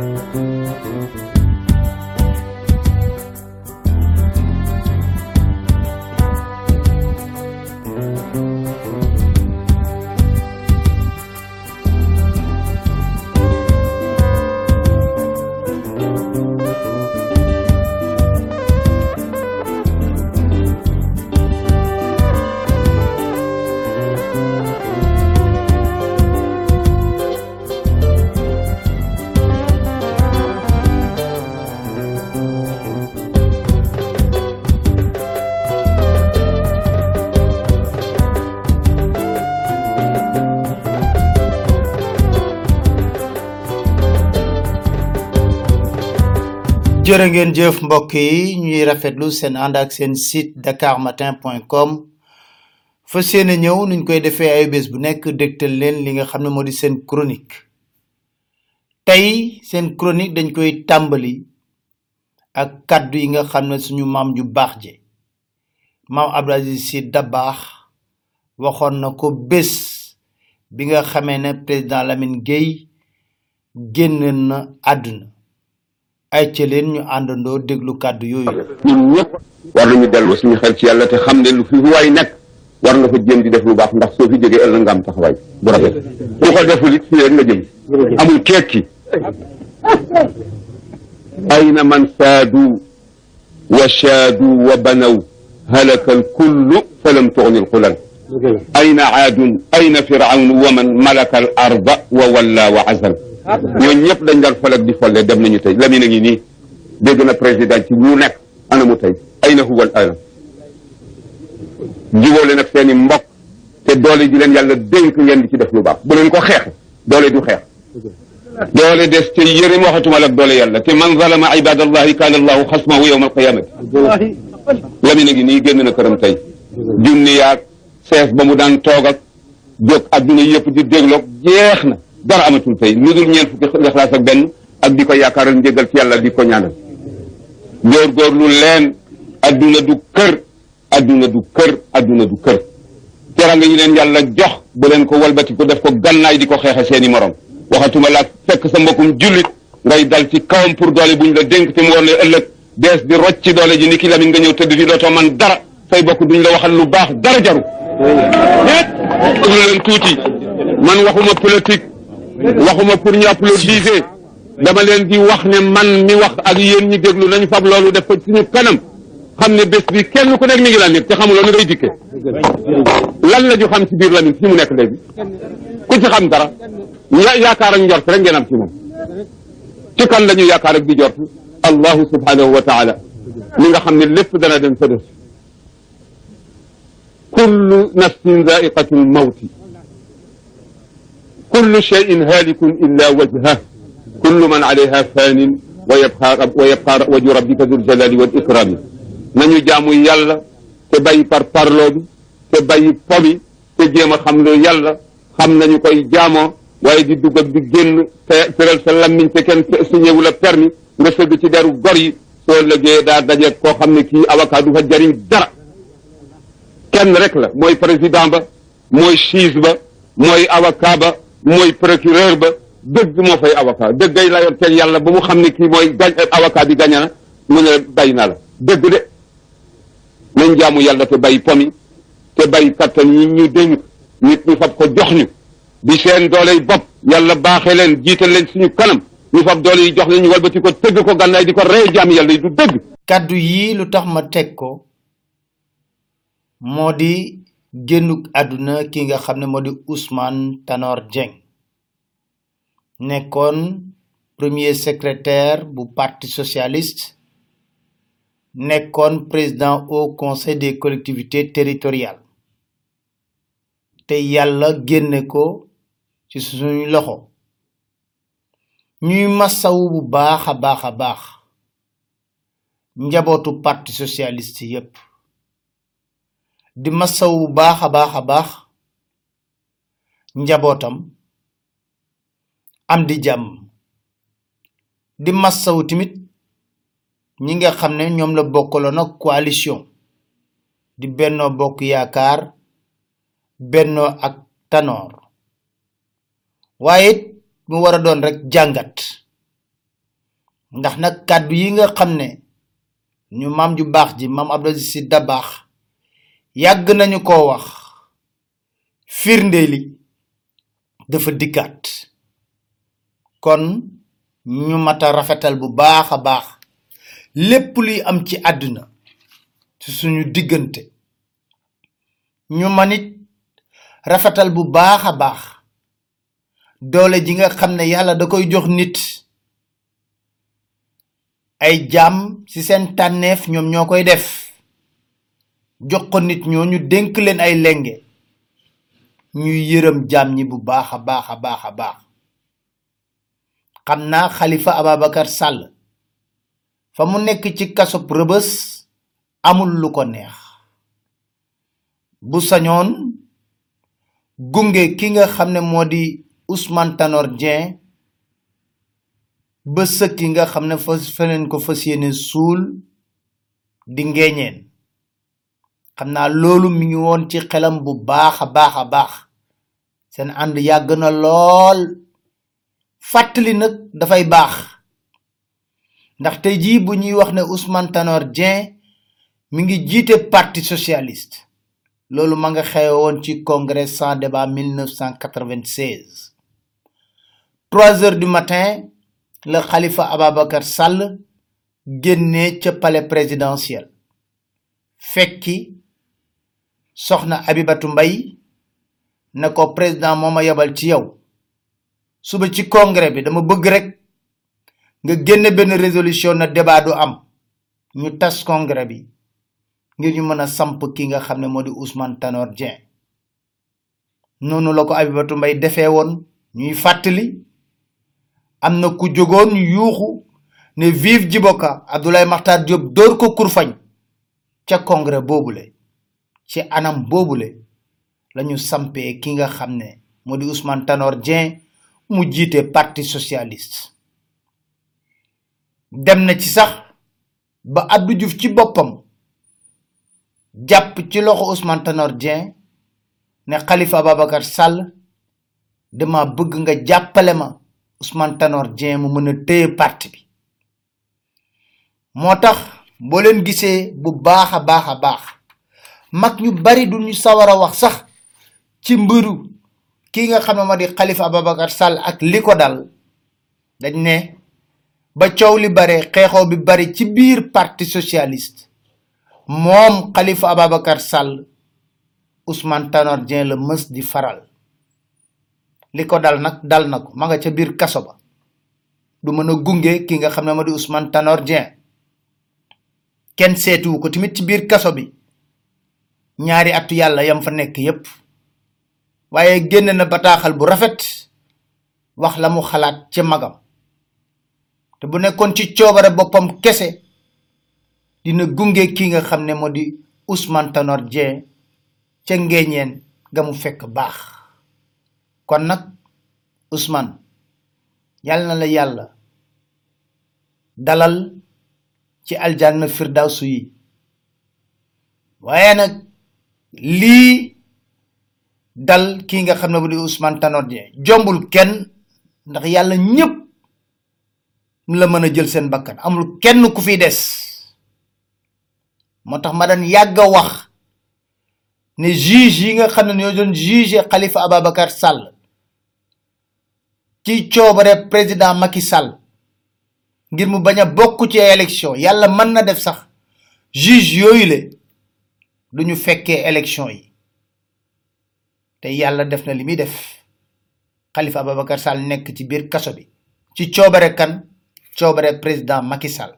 jërë ngeen jëf mbokk yi ñuy rafetlu seen ànd ak seen site dakarmatin.com fas yéene ñëw nuñ koy defee ay bés bu nekk dégtal leen li nga xam ne moo di seen chronique tey seen chronique dañ koy tàmbali ak kaddu yi nga xam ne suñu maam ju baax je maam Abdou Aziz Sy Dabakh waxoon na ko bés bi nga xamee ne président Lamine Gueye génn na àdduna ay ci leen ñu àndandoo déglu kàddu yooyu. ñun ñëpp war nañu dellu suñu xel ci yàlla te xam ne lu fi waay nekk war nga fa jéem di def lu baax ndax soo fi jógee ëllëg nga am taxawaay bu rafet bu ko deful it fii rek nga jëm amul keek ki ayna man saadu wa shaadu wa banaw halaka alkullu falam tughni alqulan ayna aadun ayna firawnu wa man malaka al arda wa walla wa azal ñooñu ñëpp dañ daan fol ak di folle dem nañu tey Lamine a ngi nii dégg na président ci lu nekk ana mu tey ay na huwal alam jubóole nag seen i mbokk te doole ji leen yàlla dénk ngeen di ci def lu baax bu leen ko xeex doole du xeex doole des te yërim waxatuma la ak doole yàlla te man zalama ibadallahi kaana allahu xasmahu yawma alqiyamati Lamine a ngi nii génn na këram tey junni yaag sees ba mu daan toog ak jóg adduna yëpp di dégloog jeex na dara amatul tey lu dul ñeent fukki Ixlaas ak benn ak di ko yaakaaral njëgal ci yàlla di ko ñaanal góorgóorlu leen adduna du kër adduna du kër adduna du kër teranga yi leen yàlla jox bu leen ko walbati ko def ko gannaay di ko xeexe seeni morom waxatuma laa fekk sa mbokkum jullit ngay dal ci kawam pour doole buñ la dénk te mu war la ëllëg dees di rocc ci doole ji ni ki Lamine nga ñëw tëdd fi dootoo man dara say bokk duñ la waxal lu baax dara jaru leen tuuti man waxuma politique waxuma pour ñu applaudiser dama leen di wax ne man mi wax ak yéen ñi déglu nañu fab loolu def ko suñu kanam xam ne bés bi kenn ku nekk mi ngi la nekk te xamuloo ni ngay dikke lan la ñu xam ci biir Lamine fi mu nekk léegi ku ci xam dara yaakaar ak njort rek ngeen am ci moom ci kan la ñu yaakaar ak di jort allahu subhanahu wa taala mi nga xam ne lépp dana dem sa def kullu nafsin zaiqatul mawti kullu shay'in halikun illa wajhah kullu man alayha fanin wa yabqa wajhu rabbika dhul jalali wal ikrami nañu jaamu yàlla te bàyyi par parloo bi te bàyyi pomi te jéem a xam lu yàlla xam nañu koy jaamoo waaye di dugg ak di génn te tëral sa lammiñ te kenn signéwu la permis nga sëgg ci deru gor yi soo lëgee daa daje koo xam ne kii avocat du fa jariñ dara kenn rek la mooy président ba mooy juge ba mooy avocat ba mooy procureur ba dëgg moo fay avocat dëggay la yor teg yàlla ba mu xam ne kii mooy avocat bi gaña na mu ne bàyyi naa la dëgg de nañ jaamu yàlla te bàyyi pomi te bàyyi kattan yi ñu dénk nit ñu fab ko jox ñu di seen doole yi bopp yàlla baaxee leen jiital leen suñu kanam ñu fab doole yi jox leen ñu walbati ko tëgg ko gànnaay di ko rey jaam yàlla yi du dëgg. kaddu yi lu tax ma teg ko moo di génnuk àdduna ki nga xam ne moo di Ousmane Tanor Dieng nekkoon premier secrétaire bu parti socialiste nekkoon président au conseil des collectivités territoriales te yàlla génne ko ci suñu loxo ñuy masawu bu baax a baax njabootu parti socialiste yépp di masawu bu baax a baax njabootam am di jàmm di masawu tamit ñi nga xam ne ñoom la bokkaloon ak coalition di Benno Bokk Yaakaar Benno ak Tanor waaye mu war a doon rek jàngat ndax nag kàddu yi nga xam ne ñu maam ju baax ji maam Abdou Aziz Sy Dabakh yàgg nañu ko wax firnde li dafa dikkaat kon ñu mata rafetal bu baax a baax lépp luy am ci àdduna ci suñu diggante ñu manit rafetal bu baax a baax doole ji nga xam ne yàlla da koy jox nit ay jaam ci seen tànneef ñoom ñoo koy def jox ko nit ñoo ñu dénk leen ay lenge ñuy yërëm jaam ñi bu baax a baax a baax a baax xam naa Khalifa Ababacar Sall fa mu nekk ci kasob Rëbës amul lu ko neex bu sañoon gunge ki nga xam ne moo di Ousmane Tanor Dieng ba sëkki nga xam ne feneen ko fas yéene suul di ngeeñeen xam naa loolu mi ngi woon ci xelam bu baax a baax a baax seen ànd yàgg na lool fàttali nag dafay baax ndax tey jii bu ñuy wax ne Ousmane Tanor Dieng mi ngi jiite parti socialiste loolu ma nga xewe woon ci congrès sans débat 1996 3 heures du matin le Khalifa Ababacar Sall génnee ca palais présidentiel fekki soxna Abibatu Mbay ne ko président moo ma yebal ci yow suba ci congrès bi dama bëgg rek nga génne benn résolution na débat du am ñu tas congrès bi ngir ñu mën a samp ki nga xam ne moo di Ousmane Tanor Dieng noonu la ko Abibatu Mbay defee woon ñuy fàttali am na ku jógoon yuuxu ne vive Djiboka Abdoulaye Makhtar Diop dóor ko kurfañ ca congrès boobule ci anam boobule lañu sampee ki nga xam ne moo di Ousmane Tanor Dieng mu jiite parti socialiste dem na ci sax ba Abdou Diouf ci boppam jàpp ci loxo Ousmane Tanor Dieng ne Khalifa Ababacar Sall dama bëgg nga jàppale ma Ousmane Tanor Dieng mu mën a téye parti bi moo tax boo leen gisee bu baax a baax a baax mag ñu bari du ñu sawar a wax sax ci mbiru ki nga xam ne moo di Khalifa Ababacar Sall ak li ko dal dañ ne ba coow li bare xeexoo bi bari ci biir parti socialiste moom Khalifa Ababacar Sall Ousmane Tanor Dieng la mës di faral li ko dal nag dal na ko ma nga ca biir kaso ba du mën a gunge ki nga xam ne moo di Ousmane Tanor Dieng kenn seetuwu ko tamit ci biir kaso bi ñaari atu yàlla yam fa nekk yépp waaye génn na bataaxal bu rafet wax la mu xalaat ca magam te bu nekkoon ci coobare boppam kese dina gunge ki nga xam ne moo di Ousmane Tanor Dieng ca ngeeñeen ga mu fekk baax kon nag Ousmane yàlla na la yàlla dalal ci aljanna firdawsu yi waaye nag lii dal ki nga xam ne bu di Ousmane Tanor Dieng jombul kenn ndax yàlla ñépp la mën a jël seen bakkan amul kenn ku fi des moo tax ma daan yàgg a wax ne juge yi nga xam ne ñoo doon juge Khalifa Ababacar Sall ci coobare président Macky Sall ngir mu bañ a bokk ci élection yàlla mën na def sax juge yooyu le duñu fekkee élection yi te yàlla def na li muy def Khalifa Ababacar Sall nekk ci biir kaso bi ci coobare kan coobare président Macky Sall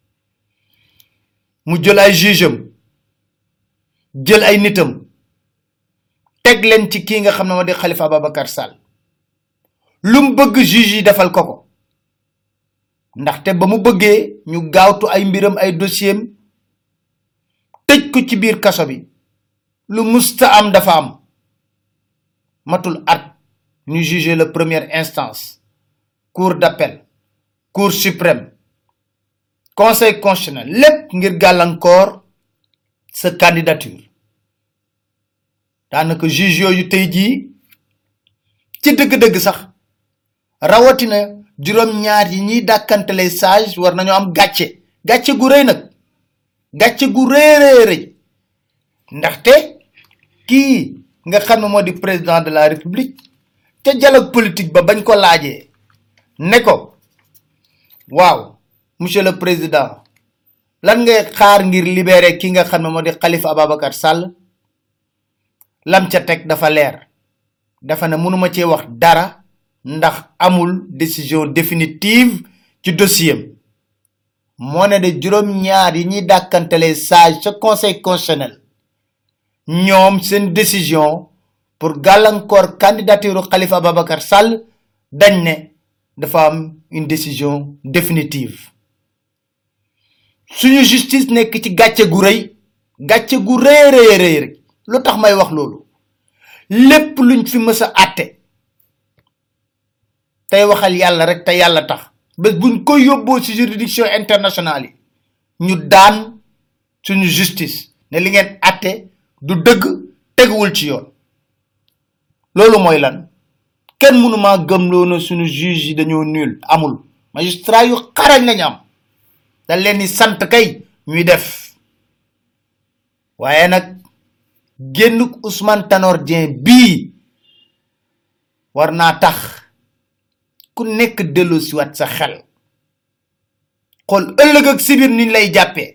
mu jël ay juge am jël ay nitam teg leen ci kii nga xam ne moo di Khalifa Ababacar Sall lu mu bëgg juge yi defal ko ko ndaxte ba mu bëggee ñu gaawtu ay mbiram ay dossier am tëj ko ci biir kaso bi lu musta am dafa am matul at ñu juger la première instance cour d'appel cour suprême conseil constitutionnel lépp ngir gàllankoor sa candidature daanaka juge yooyu tey jii ci dëgg-dëgg sax rawatina juróom-ñaar yi ñiy dàkkantale sage war nañu am gàcce gu rëy nag gàcce gu rëy ndaxte kii nga xam ne moo di président de la république te dialogue politique ba bañ ko laajee ne ko waaw monsieur le président lan ngay xaar ngir libérer ki nga xam ne moo di Khalifa Ababacar Sall lam ca teg dafa leer dafa ne mënuma cee wax dara ndax amul décision définitive ci dossier moo ne de juróom-ñaar yi ñuy dàkkantelee sage ca conseil constitutionnel ñoom seen décision pour gàllankoor candidature Khalifa Ababacar Sall dañ ne dafa am une décision définitive suñu justice nekk ci gàcce gu rëy rek lu tax may wax loolu lépp luñ fi mës a àtte tey waxal yàlla rek te yàlla tax bés buñ ko yóbboo ci juridiction internationale yi ñu daan suñu justice ne li ngeen àtte du dëgg teguwul ci yoon loolu mooy lan kenn mënuma gëmloo na suñu juge yi dañoo nul amul magistrat yu xarañ lañu am dañ leen di sant kay ñuy def waaye nag génnuk Ousmane Tanor Dieng bii war naa tax ku nekk dellu si wat sa xel xool ëllëg ak sibir niñ lay jàppee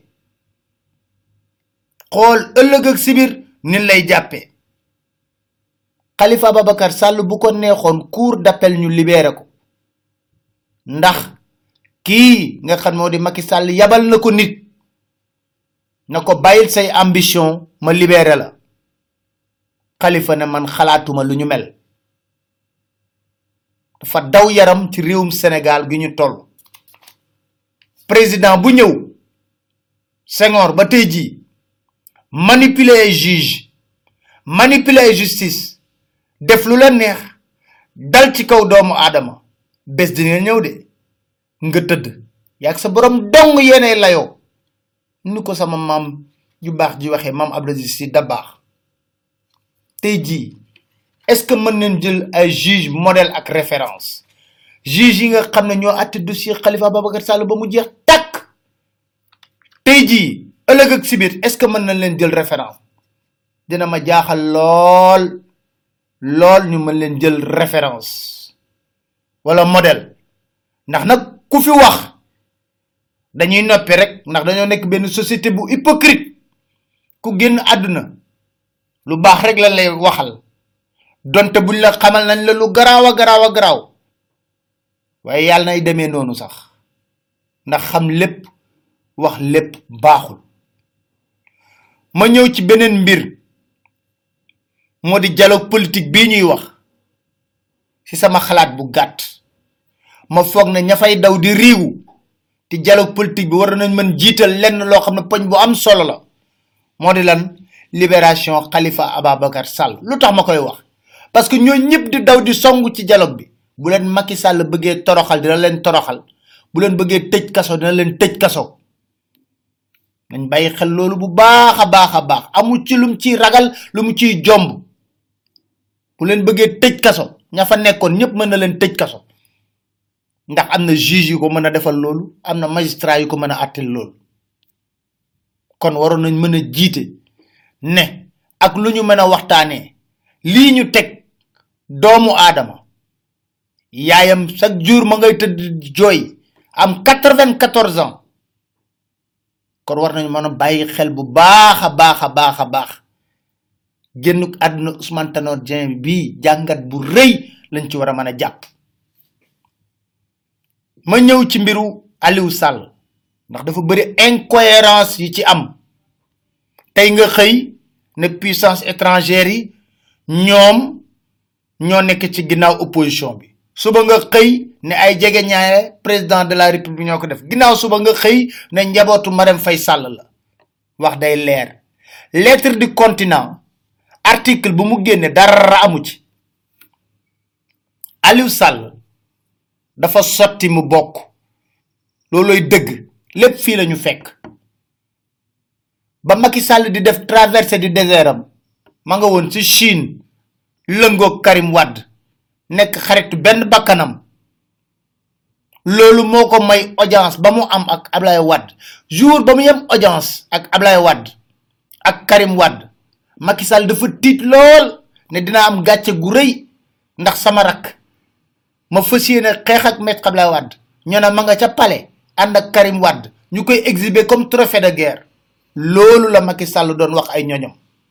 Khalifa Ababacar Sall bu ko neexoon cour d'appel ñu libéré ko ndax kii nga xam moo di Macky Sall yabal na ko nit na ko bàyyil say ambition ma libéré la Khalifa ne man xalaatuma lu ñu mel dafa daw yaram ci réewum Sénégal gi ñu toll président bu ñëw Senghor ba tey jii manipuler ay juge manipuler ay justice def lu la neex dal ci kaw doomu aadama bés dina ñëw de nga tëdd yaag sa borom dong yéene layoo ni ko sama maam ju baax ji waxee maam Abdou Aziz Sy Dabakh tey jii est-ce que mën nañ jël ay juge modèle ak référence juge yi nga xam ne ñoo àtte dossier Khalifa Ababacar Sall ba mu jeex takk tey jii ëllëg ak sibir est-ce que mën nañ leen jël référence dina ma jaaxal lool ñu mën leen jël référence wala modèle ndax nag ku fi wax dañuy noppi rek ndax dañoo nekk benn société bu hypocrite ku génn àdduna lu baax rek la lay waxal donte buñ la xamal nañ la lu garaaw waaye yàlla nay demee noonu sax ndax xam lépp wax lépp baaxul ma ñëw ci beneen mbir moo di dialogue politique bii ñuy wax ci sama xalaat bu gàtt ma foog ne ña fay daw di riigu te dialogue politique bi war nañ mën jiital lenn loo xam ne poñ bu am solo la moo di lan libération Khalifa Ababacar Sall lu tax ma koy wax parce que ñoo ñëpp di daw di songu ci dialogue bi bu leen Macky Sall bëggee toroxal dina leen toroxal bu leen bëggee tëj kaso dina leen tëj kaso nañ bàyyi xel loolu bu baax a baax amu ci lum ciy ragal lu mu ciy jomb bu leen bëggee tëj kaso ña fa nekkoon ñëpp mën na leen tëj kaso ndax am na juge yu ko mën a defal loolu am na magistrat yu ko mën a àttel loolu kon waroon nañ mën a jiite ne ak lu ñu mën a waxtaanee lii ñu teg doomu aadama yaayam chaque jour ma ngay tëdd jooy am 94 ans kon war nañu mën a bàyyi xel bu baax a baax génnuk àdduna Ousmane Tanor Dieng bii jàngat bu rëy lañ ci war a mën a jàpp ma ñëw ci mbiru Aliou Sall ndax dafa bëri incohérence yi ci am tey nga xëy ne puissance étrangère yi ñoom ñoo nekk ci ginnaaw opposition bi suba nga xëy ne ay jege ñaare président de la république ñoo ko def ginnaaw suba nga xëy ne njabootu Marème Faye Sall la wax day leer lettre du continent article bu mu génne dara amu ci Aliou Sall dafa sotti mu bokk looloy dëgg lépp fii lañu fekk ba Macky Sall di def traversée du désert am ma nga woon ci Chine lëngoog Karim Wade nekk xaritu benn bakkanam loolu moko may audience ba mu am ak Ablaye Wade jour ba mu yam audience ak Ablaye Wade ak Karim Wade Macky Sall dafa tit lol ne dina am gatché gu reuy ndax sama rak ma fassiyene xex ak Maître Ablaye Wade ñona ma nga ca palais and ak Karim Wade ñukoy exhiber comme trophée de guerre loolu la Macky Sall doon wax ay ñoñom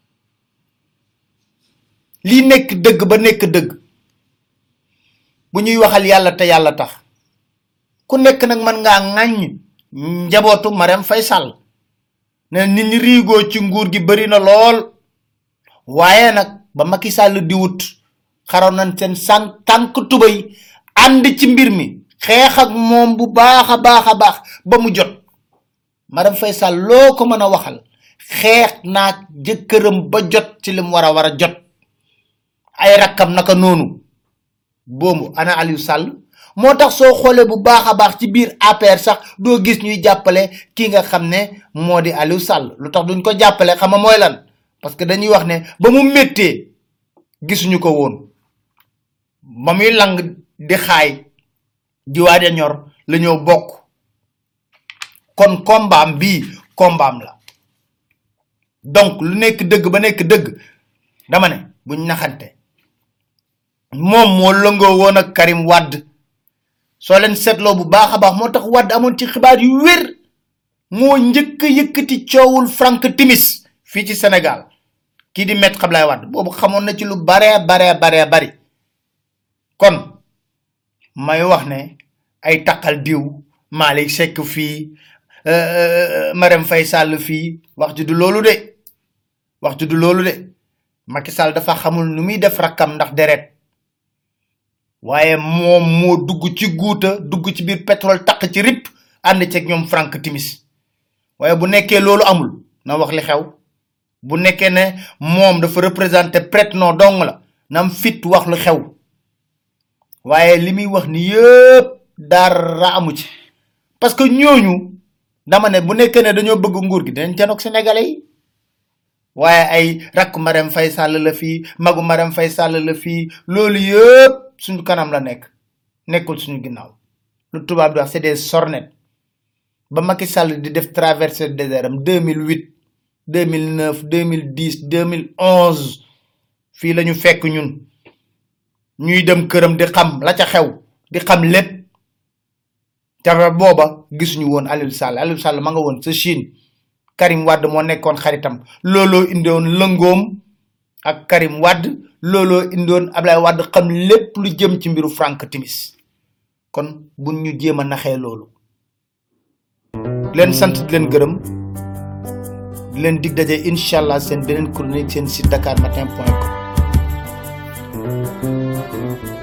li nek deug ba nek deug bu ñuy waxal yalla te yalla tax ku nek nak man nga ngagne njabotu Marème Faye Sall ne nit ñi rigo ci nguur gi bari na lool waye nak ba Macky Sall di wut xaron nañ sen tank tubay and ci mbir mi xex ak mom bu baaxa baax ba mu jot Marème Faye Sall loko mëna waxal xex nak jëkërëm ba jot ci lim wara jot ay rakam naka nonu bomu ana Aliou Sall motax so xolé bu baax ci biir APR sax do gis ñuy jappalé ki nga xamné modi Aliou Sall lutax duñ ko jappalé xama moy lan parce que dañuy wax né ba mu metté gisunu ko won ba muy lang di xaay di waja ñor la ñoo bok kon combat bi combat la donc lu nek deug ba nek deug dama né buñ naxanté mom mo lengo won ak Karim Wade so len setlo bu baaxa baax motax Wade amon ci xibaar yu wër mo ñëk yëkëti ciowul Frank Timis fi ci Sénégal ki di Maître Ablaye Wade bobu xamone na ci lu bari kon may wax ne ay takal diw Malik Seck fi Marème Faye Sall fi wax ju du lolu de Macky Sall dafa xamul nu muy def rakam ndax deret waye mom mo dugg ci guuta dugg ci bir pétrole tak ci rip and ci ak ñom Frank Timis waye bu nekké lolu amul na wax li xew bu nekké ne mom dafa représenter prête non dong la nam fit wax lu xew waye limi wax ni yépp dara amu ci parce que ñooñu dama ne bu nekké ne dañoo bëgg nguur gi dañ janok sénégalais yi waye ay rak Marème Faye Sall la fi magu Marème Faye Sall la fi lolu yépp suñu kanam la nekul suñu ginnaw lu tubab di wax c'est des sornettes ba Macky Sall di def traverser le désert 2008 2009 2010 2011 fi lañu fekk ñun ñuy dem kërëm di xam la ca xew di xam lepp ta boba gisunu won Aliou Sall ma nga won sa Chine Karim Wade mo nekkon xaritam lolo indon lengom ak Karim Wade lolo indon Ablaye Wade xam lepp lu jëm ci mbiru Frank Timis kon buñ ñu jema naxé lolu len sant len gërem len dig dajé inshallah sen benen chronique sen site dakarmatin.com